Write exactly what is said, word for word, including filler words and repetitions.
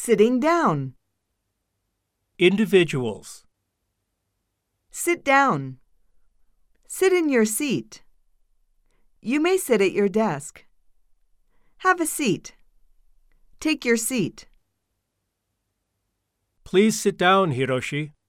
Sitting down. Individuals. Sit down. Sit in your seat. You may sit at your desk. Have a seat. Take your seat. Please sit down, Hiroshi.